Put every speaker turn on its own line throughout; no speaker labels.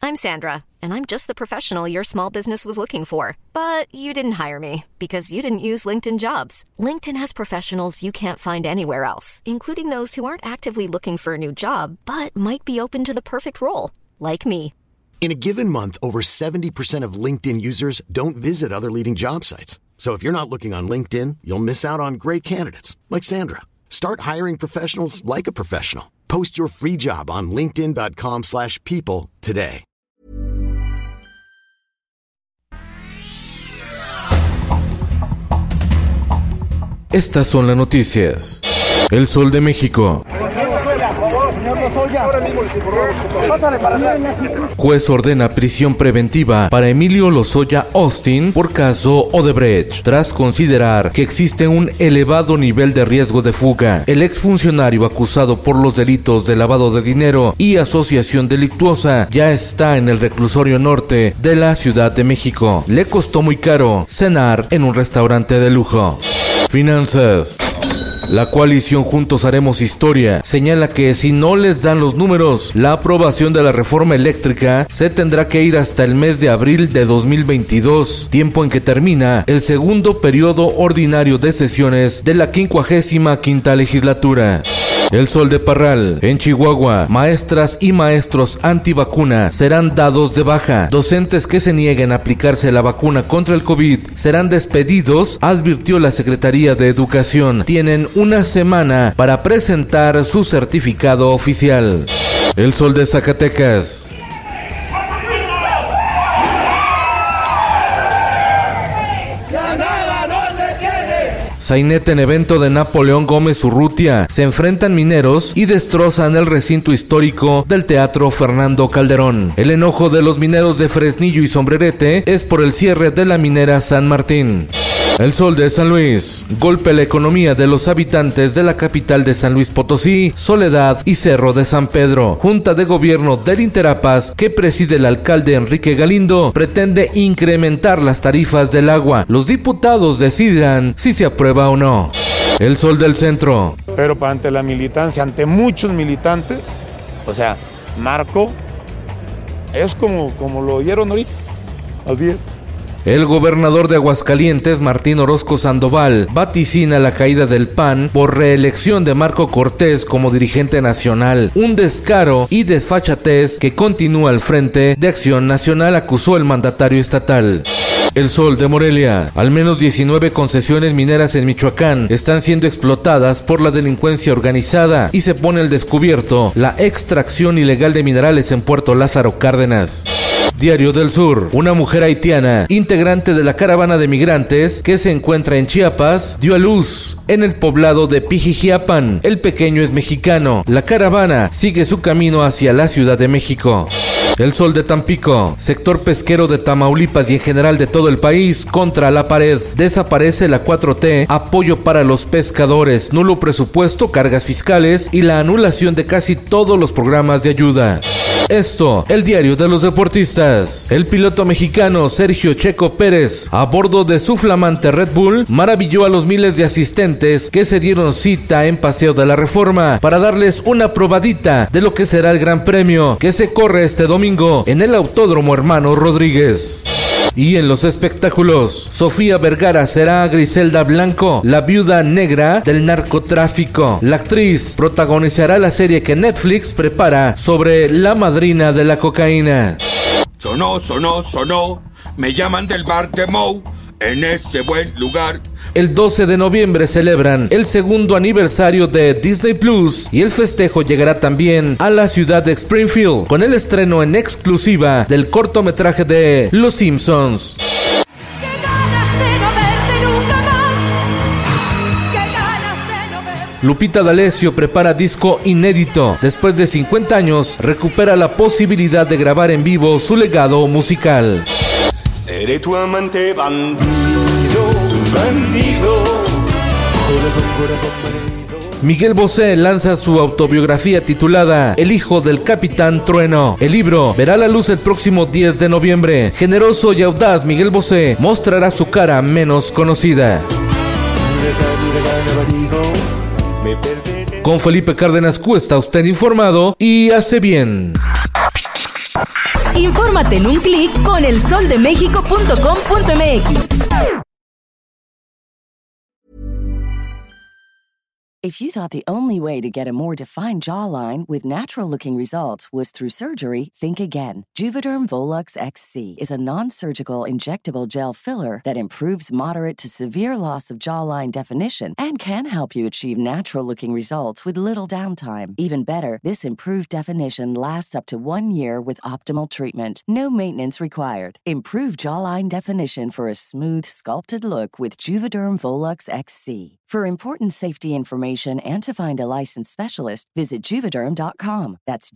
I'm Sandra, and I'm just the professional your small business was looking for. But you didn't hire me because you didn't use LinkedIn Jobs. LinkedIn has professionals you can't find anywhere else, including those who aren't actively looking for a new job, but might be open to the perfect role, like me.
In a given month, over 70% of LinkedIn users don't visit other leading job sites. So if you're not looking on LinkedIn, you'll miss out on great candidates like Sandra. Start hiring professionals like a professional. Post your free job on linkedin.com/people today.
Estas son las noticias. El Sol de México. Juez ordena prisión preventiva para Emilio Lozoya Austin por caso Odebrecht, tras considerar que existe un elevado nivel de riesgo de fuga. El exfuncionario acusado por los delitos de lavado de dinero y asociación delictuosa ya está en el reclusorio norte de la Ciudad de México. Le costó muy caro cenar en un restaurante de lujo. Finanzas. La coalición Juntos Haremos Historia señala que si no les dan los números, la aprobación de la reforma eléctrica se tendrá que ir hasta el mes de abril de 2022, tiempo en que termina el segundo periodo ordinario de sesiones de la 55ª legislatura. El Sol de Parral. En Chihuahua, maestras y maestros antivacuna serán dados de baja. Docentes que se nieguen a aplicarse la vacuna contra el COVID serán despedidos, advirtió la Secretaría de Educación. Tienen una semana para presentar su certificado oficial. El Sol de Zacatecas. Sainete en evento de Napoleón Gómez Urrutia. Se enfrentan mineros y destrozan el recinto histórico del Teatro Fernando Calderón. El enojo de los mineros de Fresnillo y Sombrerete es por el cierre de la minera San Martín. El Sol de San Luis. Golpe a la economía de los habitantes de la capital de San Luis Potosí, Soledad y Cerro de San Pedro. Junta de Gobierno del Interapas, que preside el alcalde Enrique Galindo, pretende incrementar las tarifas del agua. Los diputados decidirán si se aprueba o no. El Sol del Centro.
Pero ante la militancia, ante muchos militantes, o sea, Marco es como lo oyeron ahorita. Así es.
El gobernador de Aguascalientes, Martín Orozco Sandoval, vaticina la caída del PAN por reelección de Marco Cortés como dirigente nacional. Un descaro y desfachatez que continúa al frente de Acción Nacional, acusó el mandatario estatal. El Sol de Morelia. Al menos 19 concesiones mineras en Michoacán están siendo explotadas por la delincuencia organizada y se pone al descubierto la extracción ilegal de minerales en Puerto Lázaro Cárdenas. Diario del Sur. Una mujer haitiana, integrante de la caravana de migrantes que se encuentra en Chiapas, dio a luz en el poblado de Pijijiapan. El pequeño es mexicano. La caravana sigue su camino hacia la Ciudad de México. El Sol de Tampico. Sector pesquero de Tamaulipas y en general de todo el país contra la pared. Desaparece la 4T, apoyo para los pescadores, nulo presupuesto, cargas fiscales y la anulación de casi todos los programas de ayuda. Esto, el diario de los deportistas. El piloto mexicano Sergio Checo Pérez, a bordo de su flamante Red Bull, maravilló a los miles de asistentes que se dieron cita en Paseo de la Reforma para darles una probadita de lo que será el Gran Premio que se corre este domingo en el Autódromo Hermano Rodríguez. Y en los espectáculos, Sofía Vergara será Griselda Blanco, la viuda negra del narcotráfico. La actriz protagonizará la serie que Netflix prepara sobre la madrina de la cocaína.
Sonó, me llaman del bar de Moe, en ese buen lugar.
El 12 de noviembre celebran el segundo aniversario de Disney Plus y el festejo llegará también a la ciudad de Springfield con el estreno en exclusiva del cortometraje de Los Simpsons. Lupita D'Alessio prepara disco inédito. Después de 50 años, recupera la posibilidad de grabar en vivo su legado musical.
Seré tu amante bandido.
Miguel Bosé lanza su autobiografía titulada El hijo del Capitán Trueno. El libro verá la luz el próximo 10 de noviembre. Generoso y audaz, Miguel Bosé mostrará su cara menos conocida. Con Felipe Cárdenas Q está usted informado y hace bien.
Infórmate en un clic con elsoldemexico.com.mx.
If you thought the only way to get a more defined jawline with natural-looking results was through surgery, think again. Juvederm Volux XC is a non-surgical injectable gel filler that improves moderate to severe loss of jawline definition and can help you achieve natural-looking results with little downtime. Even better, this improved definition lasts up to 1 year with optimal treatment. No maintenance required. Improve jawline definition for a smooth, sculpted look with Juvederm Volux XC. For important safety information and to find a licensed specialist, visit Juvederm.com. That's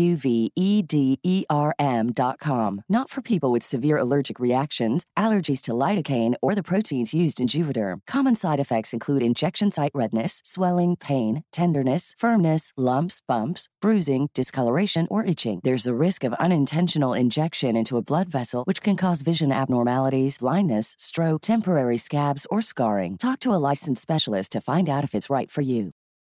JUVEDERM.com. Not for people with severe allergic reactions, allergies to lidocaine, or the proteins used in Juvederm. Common side effects include injection site redness, swelling, pain, tenderness, firmness, lumps, bumps, bruising, discoloration, or itching. There's a risk of unintentional injection into a blood vessel, which can cause vision abnormalities, blindness, stroke, temporary scabs, or scarring. Talk to a licensed specialist to find out if it's right for you.